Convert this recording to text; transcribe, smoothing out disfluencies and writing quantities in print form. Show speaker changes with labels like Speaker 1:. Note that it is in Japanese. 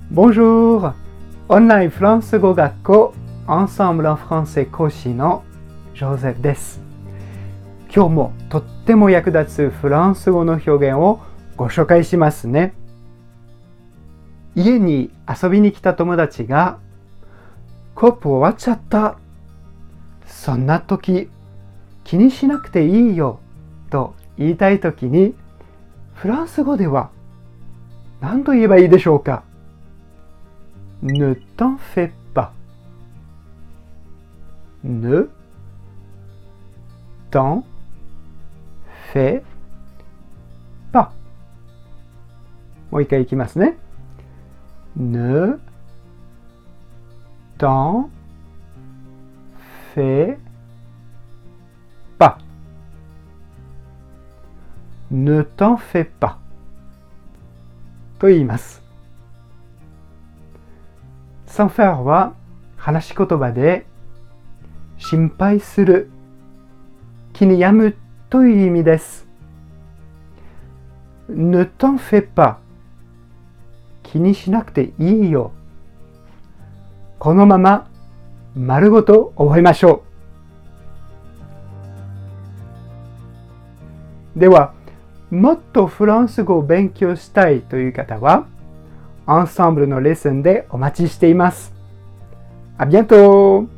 Speaker 1: Bonjour! オンラインフランス語学校 Ensemble en français 講師のジョゼフです。今日もとっても役立つフランス語の表現をご紹介しますね。家に遊びに来た友達がコップ終わっちゃった。そんな時気にしなくていいよと言いたい時にフランス語では何と言えばいいでしょうか。Ne t'en fais pas. Ne t'en fais pas. もう一回いきますね。Ne t'en fais pas. Ne t'en fais pas. と言います。sans faire は話し言葉で心配する、気に病むという意味です。Ne t'en fais pas 気にしなくていいよ。このまま丸ごと覚えましょう。では、もっとフランス語を勉強したいという方はアンサンブルのレッスンでお待ちしています。À bientôt!